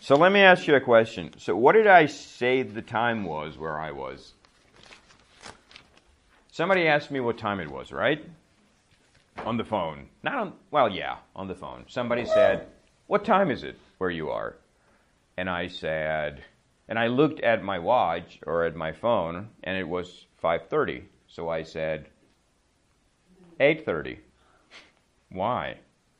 So let me ask you a question. So what did I say the time was where I was? Somebody asked me what time it was, right? On the phone. Not on, well, yeah, on the phone. Somebody said, what time is it where you are? And I said, and I looked at my watch or at my phone, and it was 5:30. So I said, 8:30. Why?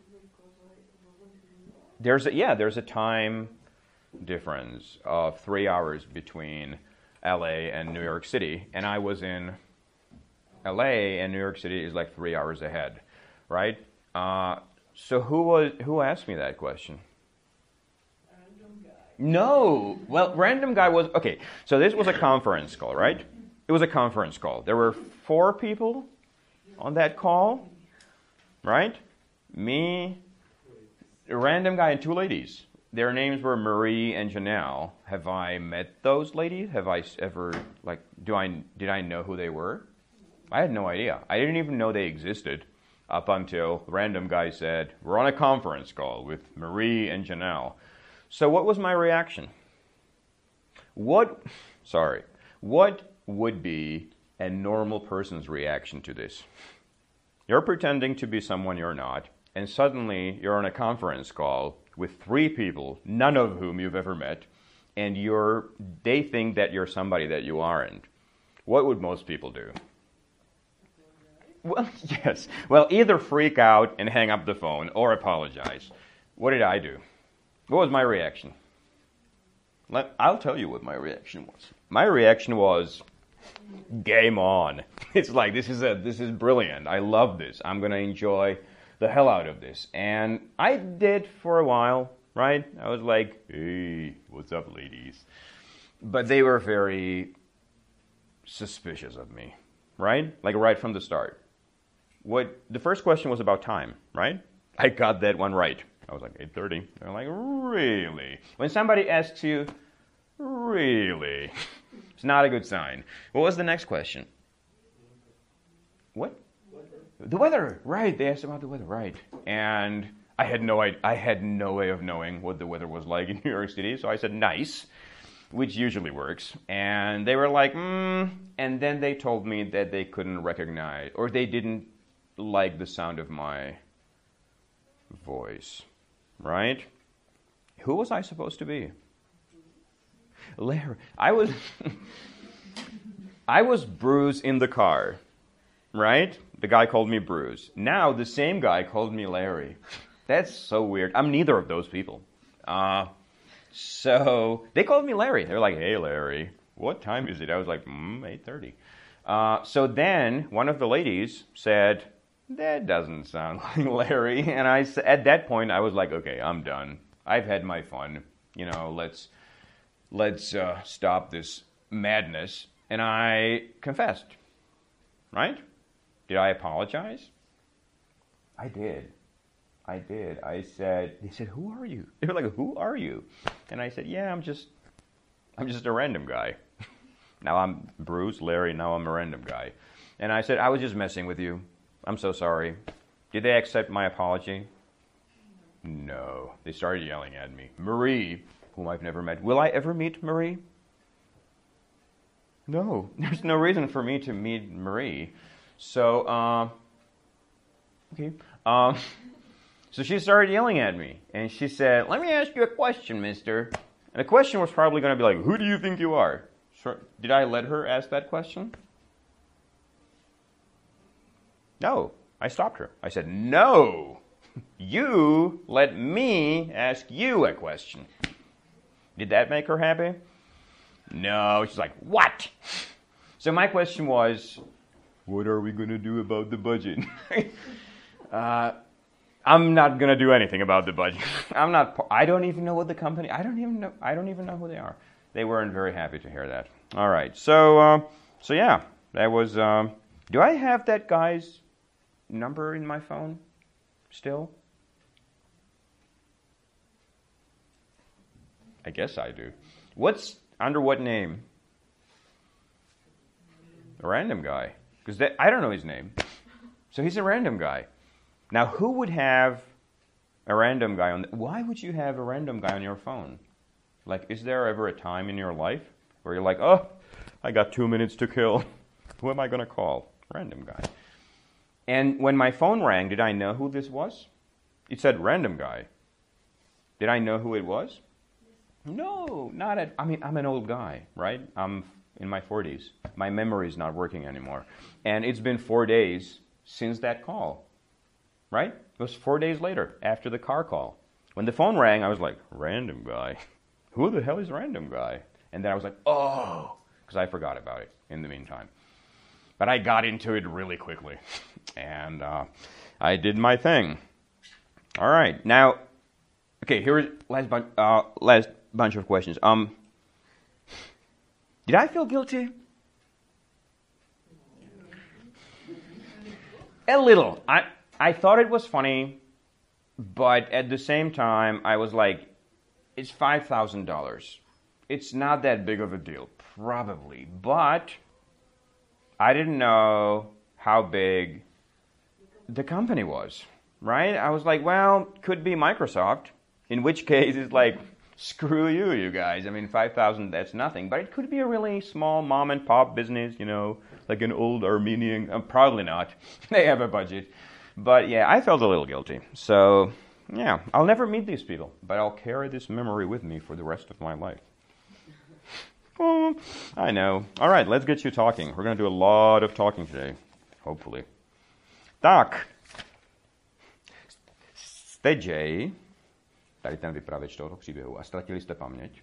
There's a time difference of 3 hours between LA and New York City, and I was in LA, and New York City is like 3 hours ahead, right? So who asked me that question? Random guy. No. Well, random guy was okay. So this was a conference call, right? It was a conference call. There were 4 people on that call, right? Me, a random guy, and 2 ladies. Their names were Marie and Janelle. Have I met those ladies? Have I ever did I know who they were? I had no idea. I didn't even know they existed up until the random guy said, we're on a conference call with Marie and Janelle. So what was my reaction? What would be a normal person's reaction to this? You're pretending to be someone you're not, and suddenly you're on a conference call with 3 people, none of whom you've ever met, and they think that you're somebody that you aren't. What would most people do? Well, yes. Well, either freak out and hang up the phone or apologize. What did I do? What was my reaction? I'll tell you what my reaction was. My reaction was, game on. It's like, this is brilliant. I love this. I'm going to enjoy the hell out of this. And I did for a while, right? I was like, hey, what's up, ladies? But they were very suspicious of me, right? Like right from the start. The first question was about time, right? I got that one right. I was like, 8:30. They're like, really? When somebody asks you, really? It's not a good sign. What was the next question? What? The weather, right? They asked about the weather, right? And I had no way of knowing what the weather was like in New York City, so I said nice, which usually works. And they were like, and then they told me that they couldn't recognize, or they didn't like the sound of my voice, right? Who was I supposed to be? Larry. I was Bruce in the car, right? The guy called me Bruce. Now the same guy called me Larry. That's so weird. I'm neither of those people. So they called me Larry. They were like, hey, Larry, what time is it? I was like, 8:30. So then one of the ladies said, that doesn't sound like Larry. And at that point, I was like, okay, I'm done. I've had my fun. Let's stop this madness. And I confessed, right? Did I apologize? I did. I said, they said, who are you? They were like, who are you? And I said, yeah, I'm just a random guy. Now I'm Bruce, Larry, now I'm a random guy. And I said, I was just messing with you. I'm so sorry. Did they accept my apology? No. They started yelling at me. Marie, whom I've never met. Will I ever meet Marie? No. There's no reason for me to meet Marie. So, okay. So she started yelling at me. And she said, let me ask you a question, mister. And the question was probably going to be like, who do you think you are? Did I let her ask that question? No. I stopped her. I said, no. You let me ask you a question. Did that make her happy? No. She's like, what? So my question was, what are we going to do about the budget? I'm not going to do anything about the budget. I don't even know what the company, I don't even know who they are. They weren't very happy to hear that. All right. So yeah, that was, do I have that guy's number in my phone still? I guess I do. Under what name? A random guy. Because I don't know his name. So he's a random guy. Now, who would have a random guy why would you have a random guy on your phone? Like, is there ever a time in your life where you're like, oh, I got 2 minutes to kill. Who am I going to call? Random guy. And when my phone rang, did I know who this was? It said random guy. Did I know who it was? No, not at, I mean, I'm an old guy, right? I'm in my 40s. My memory is not working anymore. And it's been 4 days since that call, right? It was 4 days later, after the car call. When the phone rang, I was like, random guy? Who the hell is random guy? And then I was like, oh, because I forgot about it in the meantime. But I got into it really quickly. And I did my thing. All right. Now, okay, here's last bunch of questions. Did I feel guilty? A little. I thought it was funny, but at the same time, I was like, it's $5,000. It's not that big of a deal, probably. But I didn't know how big the company was, right? I was like, well, could be Microsoft, in which case it's like, screw you guys. I mean, 5,000, that's nothing. But it could be a really small mom and pop business, you know, like an old Armenian. Probably not. They have a budget. But yeah, I felt a little guilty. So yeah, I'll never meet these people, but I'll carry this memory with me for the rest of my life. Oh, I know. All right, let's get you talking. We're going to do a lot of talking today, hopefully. Tak. Jste Jay, tady ten vypravěč tohoto příběhu, a ztratili jste paměť.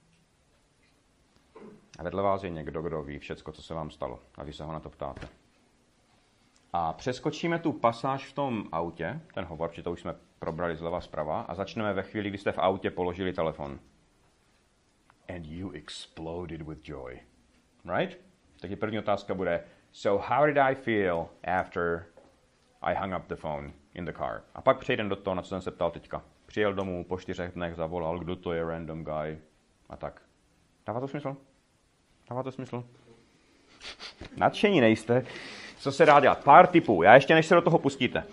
A vedle vás je někdo, kdo ví všecko, co se vám stalo. A vy se ho na to ptáte. A přeskočíme tu pasáž v tom autě, ten hovor, protože to už jsme probrali zleva zprava, a začneme ve chvíli, kdy jste v autě položili telefon. And you exploded with joy. Right? Takže první otázka bude, so how did I feel after I hung up the phone in the car? A pak přejdem do toho, na co jsem se ptal teďka. Přijel domů, po 4 dnech zavolal, kdo to je, random guy. A tak. Dává to smysl? Dává to smysl? Nadšení nejste. Co se dá dělat? Pár tipů. Já ještě než se do toho pustíte.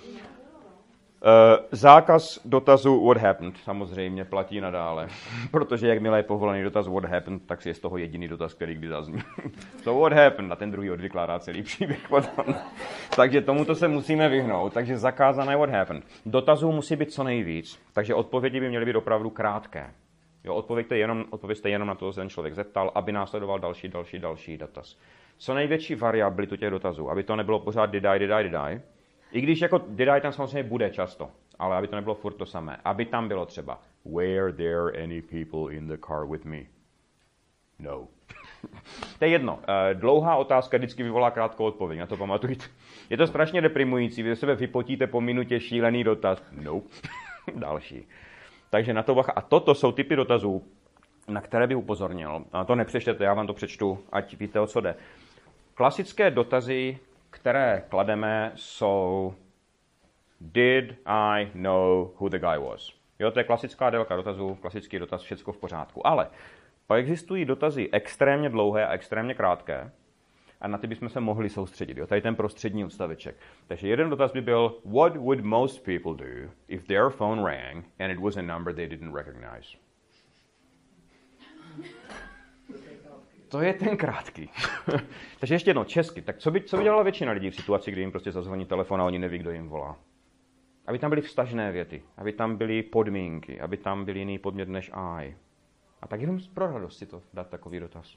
Zákaz dotazu what happened samozřejmě platí nadále. Protože jakmile je povolený dotaz what happened, tak si je z toho jediný dotaz, který kdy zazní. So what happened? A ten druhý odvykládá celý příběh potom. Takže tomuto se musíme vyhnout. Takže zakázané what happened. Dotazů musí být co nejvíc. Takže odpovědi by měly být opravdu krátké. Jo, odpověďte jenom na to, co se ten člověk zeptal, aby následoval další dotaz. Co největší variabilitu těch dotazů, aby to nebylo pořád did I. I když jako did I tam samozřejmě bude často, ale aby to nebylo furt to samé. Aby tam bylo třeba were there any people in the car with me? No. To je jedno. Dlouhá otázka vždycky vyvolá krátkou odpověď, na to pamatujte. Je to strašně deprimující, vy sebe vypotíte po minutě šílený dotaz. No. Další. Takže na to bacha. A toto jsou typy dotazů, na které bych upozornil. A to nepřečtěte, já vám to přečtu, ať víte, o co jde. Klasické dotazy, které klademe, jsou did I know who the guy was? Jo, to je klasická délka dotazů, klasický dotaz, všecko v pořádku. Ale pak existují dotazy extrémně dlouhé a extrémně krátké a na ty bychom se mohli soustředit. Jo, tady ten prostřední odstaveček. Takže jeden dotaz by byl what would most people do if their phone rang and it was a number they didn't recognize? To je ten krátký. Takže ještě jedno, česky. Tak co by dělala většina lidí v situaci, kdy jim prostě zazvoní telefon a oni neví, kdo jim volá? Aby tam byly vztažné věty, aby tam byly podmínky, aby tam byl jiný podmět než I. A tak jenom pro radost si to dát takový dotaz.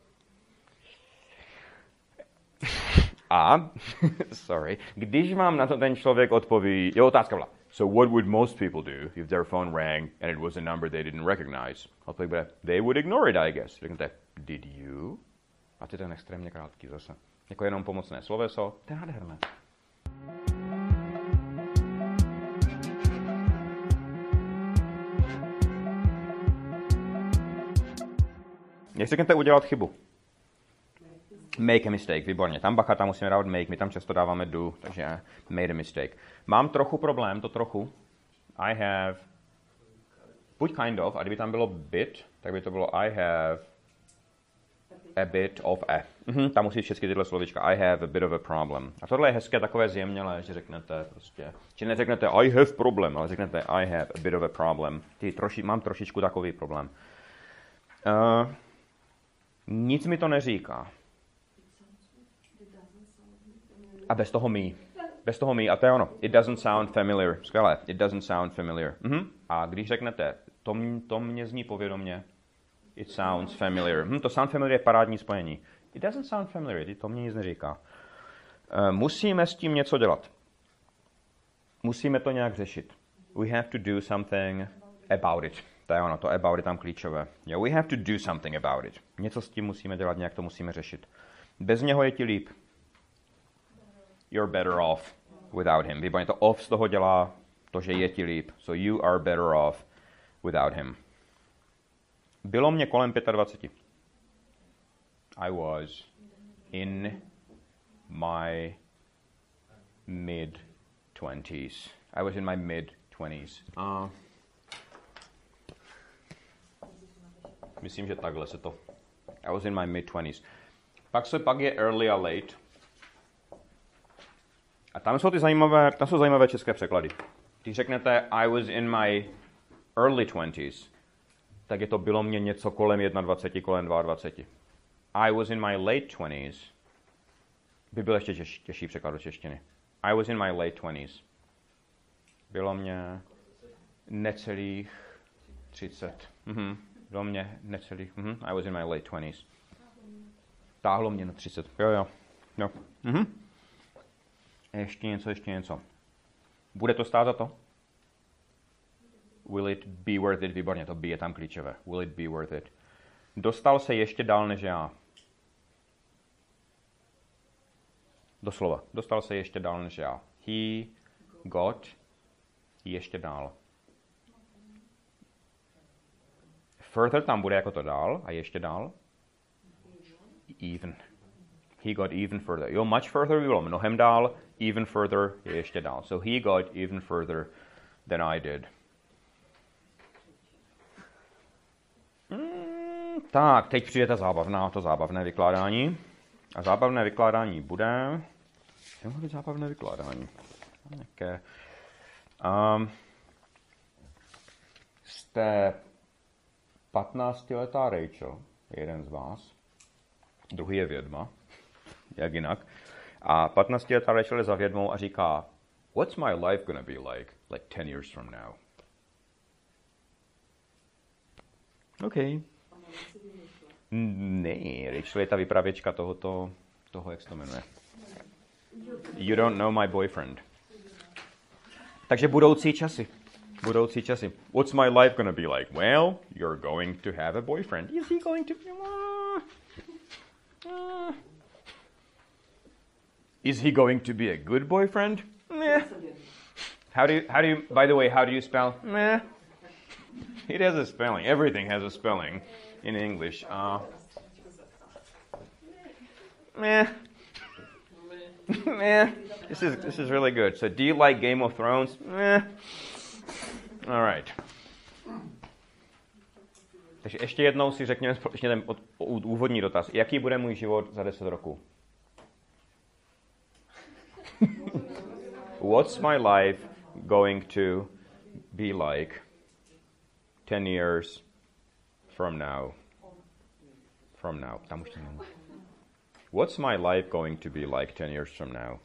A, když vám na to ten člověk odpoví, jo, otázka byla, so what would most people do if their phone rang and it was a number they didn't recognize? Odpověď bude, they would ignore it, I guess. Řeknete, did you? A to je ten extrémně krátký zase. Jako jenom pomocné sloveso, to je nádherné. Jak řeknete udělat chybu? Make a mistake, výborně. Tam bacha, tam musíme dávat make, my tam často dáváme do, takže made a mistake. Mám trochu problém, to trochu. I have, buď kind of, a kdyby tam bylo bit, tak by to bylo I have a bit of a. Tam musí všechny tyhle slovička. I have a bit of a problem. A tohle je hezké, takové zjemnělé, že řeknete prostě, či neřeknete I have problem, ale řeknete I have a bit of a problem. Mám trošičku takový problém. Nic mi to neříká. A bez toho me. Bez toho me. A to je ono. It doesn't sound familiar. Skvělé. It doesn't sound familiar. A když řeknete, to mě zní povědomě, it sounds familiar. To sound familiar je parádní spojení. It doesn't sound familiar. To mě nic neříká. Musíme s tím něco dělat. Musíme to nějak řešit. We have to do something about it. To je ono, to about it tam klíčové. Yeah, we have to do something about it. Něco s tím musíme dělat, nějak to musíme řešit. Bez něho je ti líp. You're better off without him. Výborně, to off z toho dělá to, že je ti líp. So you are better off without him. Bylo mě kolem 25. I was in my mid-20s. I was in my mid-20s. Myslím, že takhle se to... I was in my mid-20s. Pak je early a late. A tam jsou zajímavé české překlady. Když řeknete I was in my early 20s, tak je to bylo mě něco kolem 21, kolem 22. I was in my late 20s by byl ještě těžší překlad do češtiny. I was in my late 20s. Bylo mě necelých 30. Bylo mě necelých... I was in my late 20s. Táhlo mě na 30. Jo. Ještě něco. Bude to stát za to? Will it be worth it? Výborně, to be je tam klíčové. Will it be worth it? Dostal se ještě dál než já. Doslova. Dostal se ještě dál než já. He got ještě dál. Further tam bude jako to dál a ještě dál. Even. He got even further. Jo, much further by bylo mnohem dál. Even further je ještě dál. So he got even further than I did. Tak, teď přijde to zábavné vykládání. A zábavné vykládání bude... Co bude zábavné vykládání? Jaké? Jste 15letá Rachel, jeden z vás. Druhý je vědma. Jak jinak. A 15letá Rachel je za vědmou a říká, what's my life gonna be like 10 years from now? OK. Ne, Rachel je ta vypravěčka toho, jak se to jmenuje. You don't know my boyfriend. Takže budoucí časy. What's my life gonna be like? Well, you're going to have a boyfriend. Is he going to... Is he going to be a good boyfriend? Meh. How do you, by the way, how do you spell meh? It has a spelling. Everything has a spelling in English. Meh. Meh. This is really good. So, do you like Game of Thrones? Meh. All right. Takže ještě jednou si řekněme společně ten úvodní dotaz. Jaký bude můj život za 10 roků? What's my life going to be like 10 years from now? Tam už to nemůžu. What's my life going to be like 10 years from now?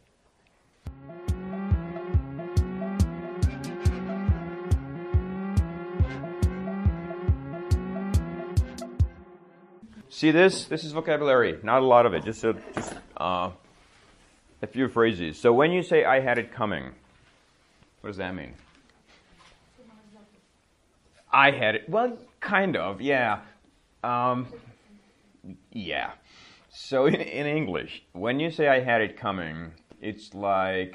See this? This is vocabulary. Not a lot of it. Just a few phrases. So when you say I had it coming, what does that mean? I had it. Well, kind of. Yeah. Yeah. So in English, when you say I had it coming, it's like,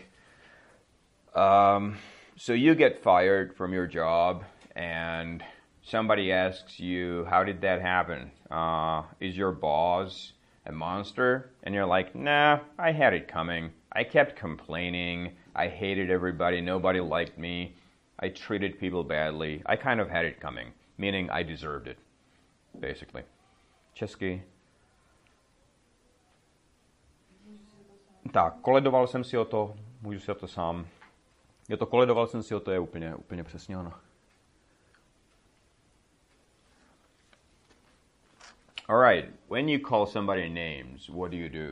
so you get fired from your job and somebody asks you, how did that happen? Is your boss a monster? And you're like, nah, I had it coming. I kept complaining. I hated everybody. Nobody liked me. I treated people badly. I kind of had it coming, meaning I deserved it, basically. Česky. Tak, koledoval jsem si o to, můžu si o to sám. Je to koledoval jsem si o to, je úplně přesně ono. All right, when you call somebody names, what do?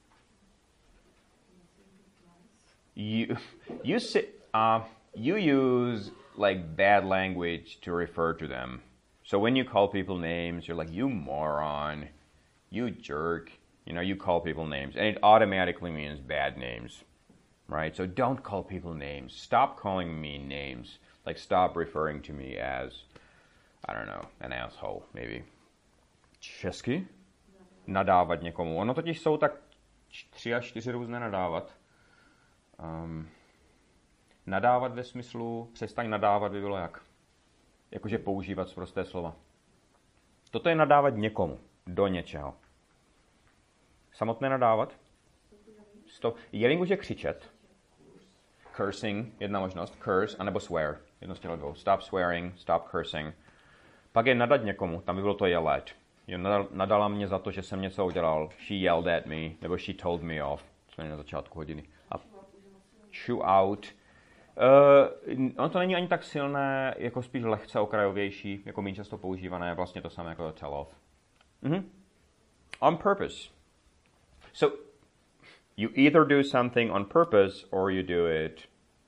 You use like bad language to refer to them. So when you call people names, you're like, you moron, you jerk. You call people names, and it automatically means bad names, right? So don't call people names. Stop calling me names. Like, stop referring to me as, I don't know, an asshole, maybe. Česky? Nadávat někomu. Ono totiž jsou tak 3 až 4 různé nadávat. Nadávat ve smyslu, přestaň nadávat by bylo jak? Jakože používat sprosté slova. Toto je nadávat někomu, do něčeho. Samotné nadávat? Jelin může křičet. Cursing, jedna možnost. Curse, anebo swear. Jedno z těchto dvou. Stop swearing, stop cursing. Pak je nadat někomu, tam by bylo to jelet. Nadala mě za to, že jsem něco udělal. She yelled at me, nebo she told me off. Jsme na začátku hodiny. A chew out. Ono to není ani tak silné, jako spíš lehce okrajovější, jako méně často používané, vlastně to samé jako tell off. On purpose. So, you either do something on purpose, or you do it,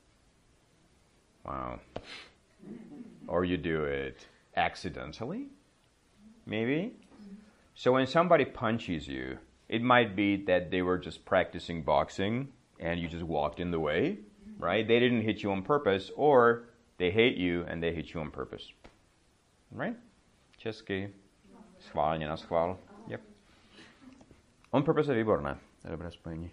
or you do it accidentally, maybe. So when somebody punches you, it might be that they were just practicing boxing, and you just walked in the way, right? They didn't hit you on purpose, or they hate you, and they hit you on purpose. Right? Česky. Schválně na schvál. Yep. On purpose je výborné. To je dobré spojení.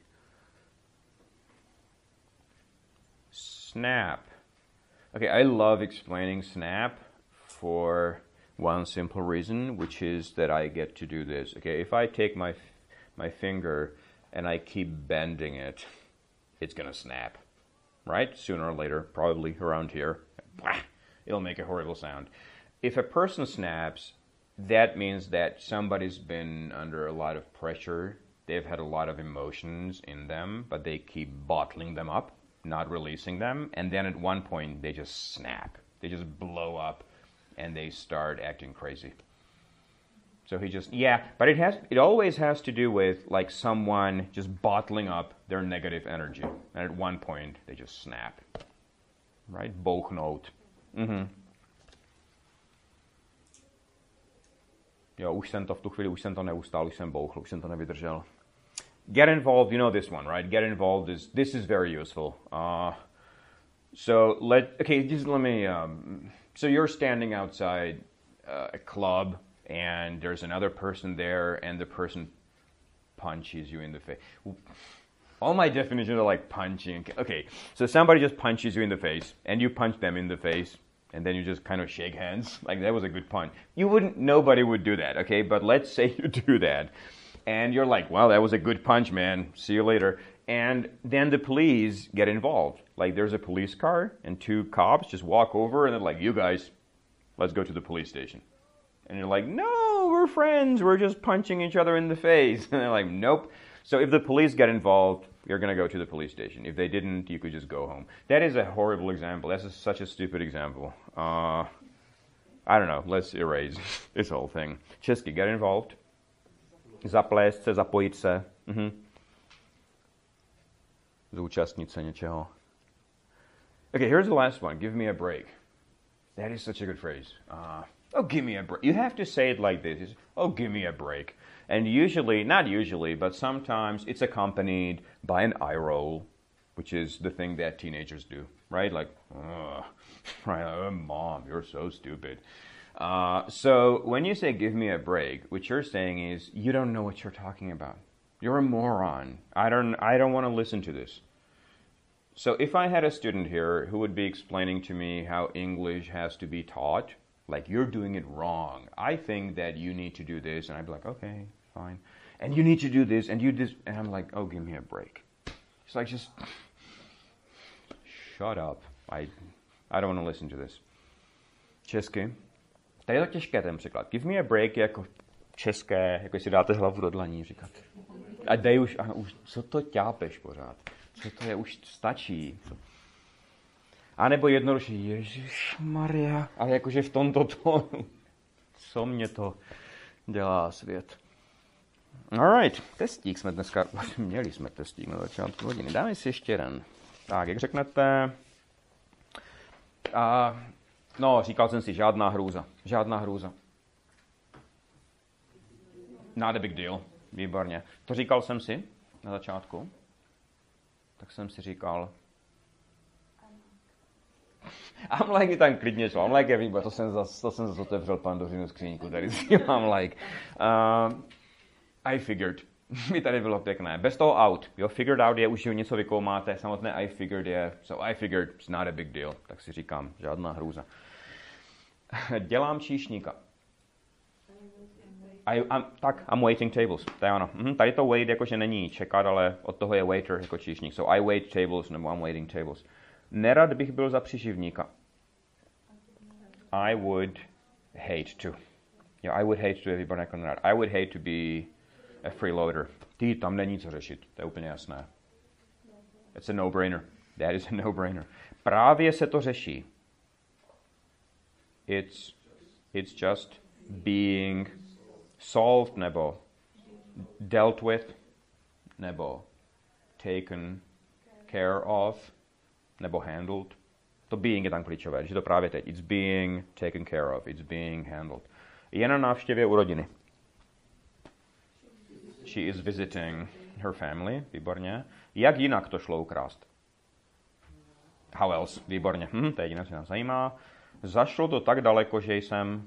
Snap. Okay, I love explaining snap for one simple reason, which is that I get to do this. Okay, if I take my finger and I keep bending it, it's gonna snap. Right? Sooner or later, probably around here. It'll make a horrible sound. If a person snaps, that means that somebody's been under a lot of pressure. They've had a lot of emotions in them, but they keep bottling them up, not releasing them. And then at one point, they just snap. They just blow up, and they start acting crazy. So but it always has to do with like someone just bottling up their negative energy. And at one point, they just snap. Right? Bouchnout. Jo, už jsem to neustál, už jsem bouchl, už jsem to nevydržel. Get involved, you know this one, right? Get involved this is very useful. So you're standing outside a club, and there's another person there, and the person punches you in the face. All my definitions are like punching. Okay, so somebody just punches you in the face, and you punch them in the face, and then you just kind of shake hands. Like, that was a good punch. Nobody would do that, okay? But let's say you do that, and you're like, well, that was a good punch, man. See you later. And then the police get involved. Like, there's a police car, and 2 cops just walk over, and they're like, you guys, let's go to the police station. And you're like, no, we're friends. We're just punching each other in the face. And they're like, nope. So if the police get involved, you're going to go to the police station. If they didn't, you could just go home. That is a horrible example. That's such a stupid example. I don't know. Let's erase this whole thing. Česky, get involved. Zaplést se, zapojit se. Zúčastnit se něčeho. Okay, here's the last one. Give me a break. That is such a good phrase. Oh, give me a break. You have to say it like this. Oh, give me a break. And not usually, but sometimes it's accompanied by an eye roll, which is the thing that teenagers do, right? Like, right, oh, Mom, you're so stupid. So when you say give me a break, what you're saying is you don't know what you're talking about. You're a moron. I don't want to listen to this. So if I had a student here who would be explaining to me how English has to be taught, like, you're doing it wrong. I think that you need to do this. And I'd be like, okay, fine. And you need to do this, and you this. And I'm like, oh, give me a break. It's like, just shut up. I don't want to listen to this. Česky. Tady je to těžké, ten překlad. Give me a break je jako české, jako si dáte hlavu do dlaní, říkat. A dej už, co to ťápeš pořád? Co to je, už stačí. A nebo jednoduše, Ježišmarja, ale jakože v tomto tónu. Co mě to dělá svět. Alright, testík jsme dneska, měli jsme testík na začátku hodiny. Dáme si ještě jeden. Tak, jak řeknete, no, říkal jsem si, žádná hrůza. Not a big deal, výborně. To říkal jsem si na začátku. Tak jsem si říkal, I'm like, tam klidně šlo, I'm like everybody, to jsem zase otevřel Pandořinu skříňku, tady si mám like. I figured, mi tady bylo pěkné. Bez toho out, jo, figured out je už, že něco vykoumáte, samotné I figured je, so I figured, it's not a big deal, tak si říkám, žádná hrůza. Dělám číšníka. I'm waiting tables, to je ono. Tady to wait jakože není čekat, ale od toho je waiter jako číšník, so I wait tables, nebo I'm waiting tables. Nerad bych byl za příživníka. I would hate to. Yeah, I would hate to, je výborné jako nerad. I would hate to be a freeloader. Tam není co řešit, to je úplně jasné. It's a no-brainer. That is a no-brainer. Právě se to řeší. It's just being solved, nebo dealt with, nebo taken care of, nebo handled. To being je tam klíčové, že to právě teď. It's being taken care of, it's being handled. Je na návštěvě u rodiny. She is visiting her family, výborně. Jak jinak to šlo ukrást? How else? Výborně. To je jediné, co nás zajímá. Zašlo to tak daleko, že jsem...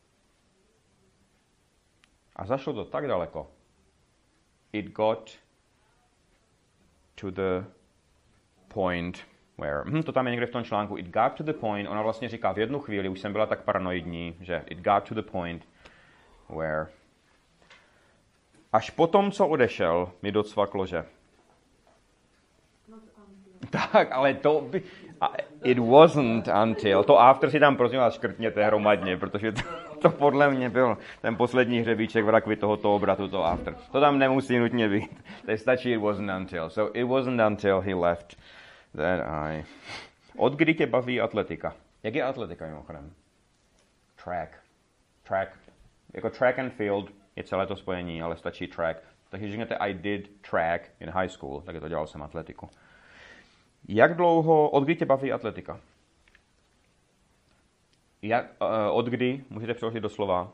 A zašlo to tak daleko. It got to the point where... to tam je někde v tom článku. It got to the point, ona vlastně říká, v jednu chvíli už jsem byla tak paranoidní, že it got to the point where... Až potom, co odešel, mi docvaklo, že... Tak, ale to by... It wasn't until... To after si tam prosím vás škrtněte hromadně, protože to podle mě byl ten poslední hřebíček v rakvi tohoto obratu, to after. To tam nemusí nutně být. To stačí it wasn't until. So it wasn't until he left that I... Od kdy tě baví atletika? Jak je atletika mimochodem? Track. Jako track and field je celé to spojení, ale stačí track. Takže řeknete I did track in high school, tak to dělal jsem atletiku. Jak dlouho, od kdy tě baví atletika? Od kdy, můžete přeložit do slova?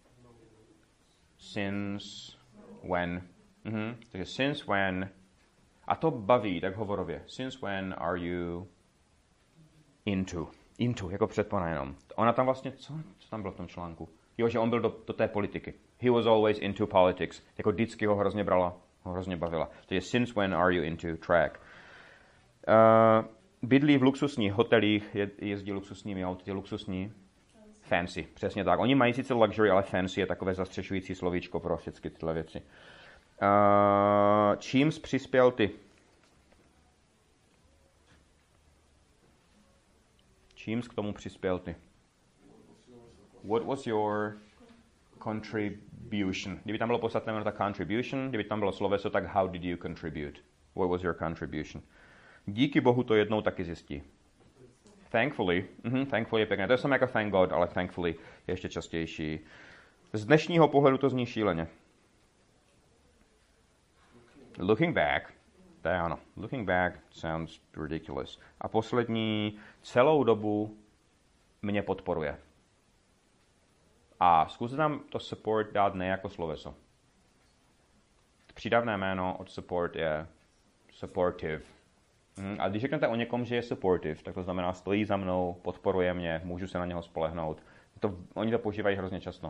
Since when. Takže since when. A to baví, tak hovorově. Since when are you into? Into, jako předpona jenom. Ona tam vlastně, co tam bylo v tom článku? Jo, že on byl do té politiky. He was always into politics. Jako vždycky ho hrozně brala, ho hrozně bavila. Takže since when are you into track? Bydlí v luxusních hotelích, jezdí luxusními auty, luxusní. Fancy, přesně tak. Oni mají sice luxury, ale fancy je takové zastřešující slovíčko pro všechny tyhle věci. Čím jsi přispěl ty? Čím jsi k tomu přispěl ty? What was your contribution? Kdyby tam bylo podstatné jméno, tak contribution. Kdyby tam bylo sloveso, tak how did you contribute? What was your contribution? Díky Bohu to jednou taky zjistí. Thankfully. Thankfully je pěkné. To je samé jako thank God, ale thankfully je ještě častější. Z dnešního pohledu to zní šíleně. Looking back. To je ano. Looking back sounds ridiculous. A poslední, celou dobu mě podporuje. A zkuste tam to support dát ne jako sloveso. Přídavné jméno od support je supportive. A když řeknete o někom, že je supportive, tak to znamená stojí za mnou, podporuje mě, můžu se na něho spolehnout. Oni to používají hrozně často.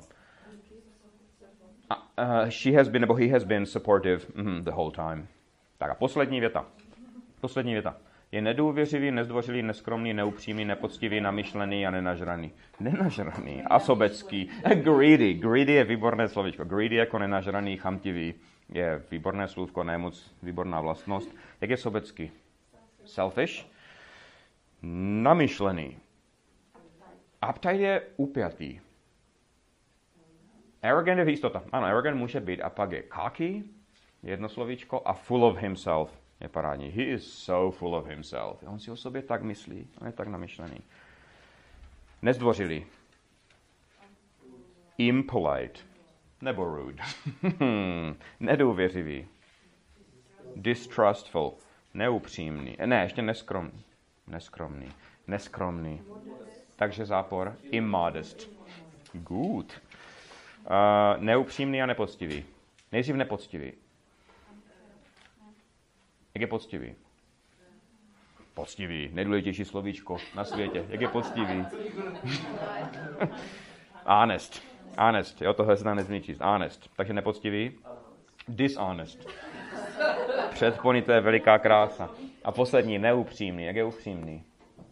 She has been, nebo he has been supportive the whole time. Tak a poslední věta. Je nedůvěřivý, nezdvořilý, neskromný, neupřímný, nepoctivý, namyšlený a nenažraný. Nenažraný a sobecký. Greedy. Greedy je výborné slovíčko. Greedy jako nenažraný, chamtivý. Je výborné slůvko, ne moc výborná vlastnost. Jak je sobecký? Selfish. Namyšlený. Uptight je upjatý. Arrogant je jistota. Ano, arrogant může být. A pak je cocky, jedno slovíčko, a full of himself je parádní. He is so full of himself. On si o sobě tak myslí. On je tak namyšlený. Nezdvořilý. Impolite. nebo rude? Nedůvěřivý. Distrustful. Neupřímný. Ne, ještě neskromný. Neskromný. Takže zápor. Immodest. Good. Neupřímný a nepoctivý. Nejdřív nepoctivý. Jak je poctivý? Poctivý. Nejdůležitější slovíčko na světě. Jak je poctivý? Honest. Jo, tohle se tam nezmí číst. Honest. Takže nepoctivý. Dishonest. Předponité je veliká krása. A poslední, neupřímný. Jak je upřímný?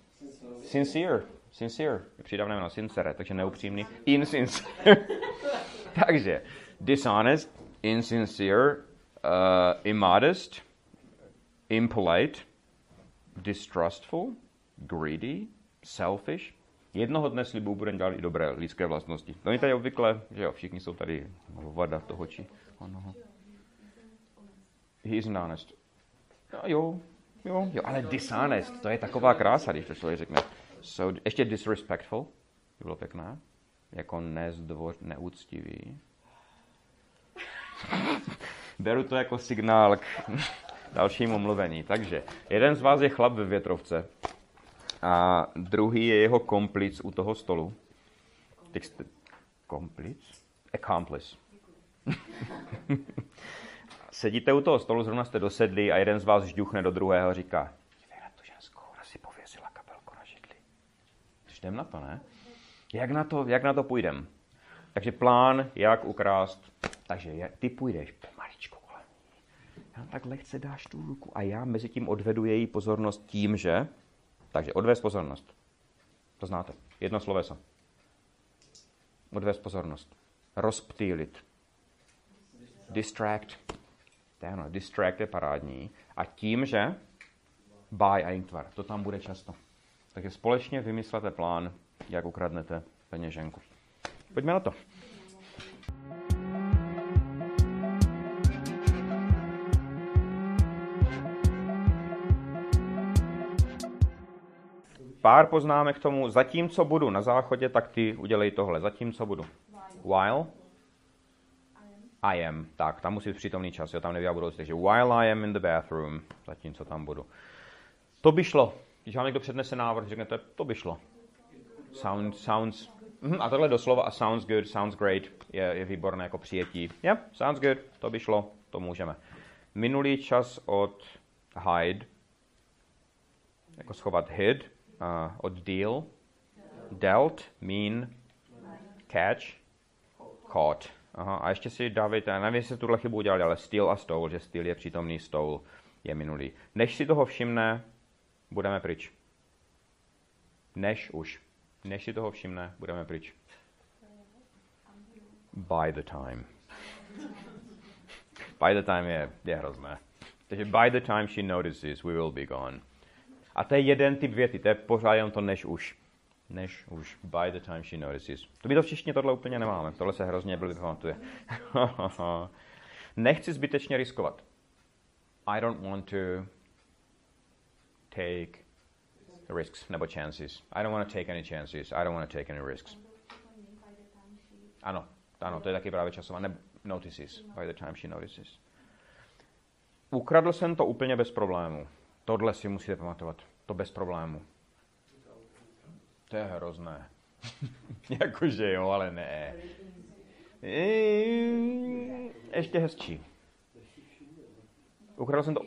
Sincere. Přidávné jméno sincere, takže neupřímný. Insincere. Takže dishonest, insincere, immodest, impolite, distrustful, greedy, selfish. Jednoho dne slibu budeme dělat i dobré lidské vlastnosti. To je tady obvykle, že jo, všichni jsou tady vada toho či onoho. He isn't honest. Jo, ale dishonest, to je taková krása, když to člověk řekne. So, ještě disrespectful, to bylo pěkné, jako neúctivý. Beru to jako signál k dalšímu mluvení. Takže jeden z vás je chlap ve větrovce a druhý je jeho komplic u toho stolu. Komplic? Accomplice. Sedíte u toho stolu, zrovna jste dosedli a jeden z vás žduchne do druhého a říká: dívej na tu ženskou, ona si pověsila kabelku na židli. Jdem na to, ne? Jak na to půjdem? Takže plán, jak ukrást. Takže ty půjdeš pomaličku kolem ní. Já tak lehce dáš tu ruku a já mezi tím odvedu její pozornost tím, že... Takže odvést pozornost. To znáte. Jedno sloveso. Odvést pozornost. Rozptýlit. Distract. Distract je parádní. A tím, že buy a inktvar. To tam bude často. Takže společně vymyslete plán, jak ukradnete peněženku. Pojďme na to. Pár poznámek k tomu. Zatímco budu na záchodě, tak ty udělej tohle. Zatímco budu. While I am. Tak, tam musí být přítomný čas. Jo, tam nevěděl budoucí. Takže while I am in the bathroom. Zatímco tam budu. To by šlo. Když vám někdo přednese návrh, řeknete, to by šlo. Sounds. A tohle doslova a sounds good, sounds great je výborné jako přijetí. Yeah, sounds good, to by šlo, to můžeme. Minulý čas od hide, jako schovat hid, od deal, dealt, mean, catch, caught. Aha, a ještě si dávejte, nevím, jestli tuhle chybu udělali, ale steal a stole, že steal je přítomný, stole je minulý. Než si toho všimne, budeme pryč. Než si toho všimne, budeme pryč. By the time. By the time je hrozné. Takže by the time she notices, we will be gone. A to je jeden typ věty, to je pořád jenom to než už. By the time she notices. To my to v češtině tohle úplně nemáme. Tohle se hrozně blbě pamatuje. Nechci zbytečně riskovat. I don't want to take risks nebo chances. I don't want to take any chances. I don't want to take any risks. Ano, to je taky právě časová. Notices. By the time she notices. Ukradl jsem to úplně bez problému. Tohle si musíte pamatovat. To bez problému. To je hrozné. Jakože jo, ale ne. Ještě hezčí. Ukradl jsem to...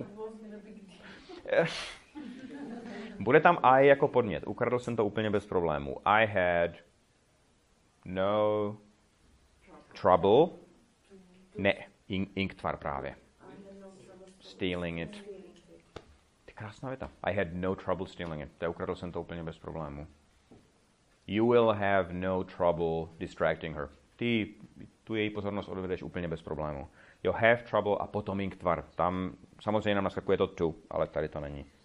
Bude tam I jako podmět. Ukradl jsem to úplně bez problému. I had no trouble. Ne, inktvar právě. Stealing it. Ty krásná věta. I had no trouble stealing it. Ukradl jsem to úplně bez problému. You will have no trouble distracting her. Ty tu její pozornost odvedeš úplně bez problému. You have trouble a potom inktvar. Tam samozřejmě nám naskakuje to to, ale tady to není.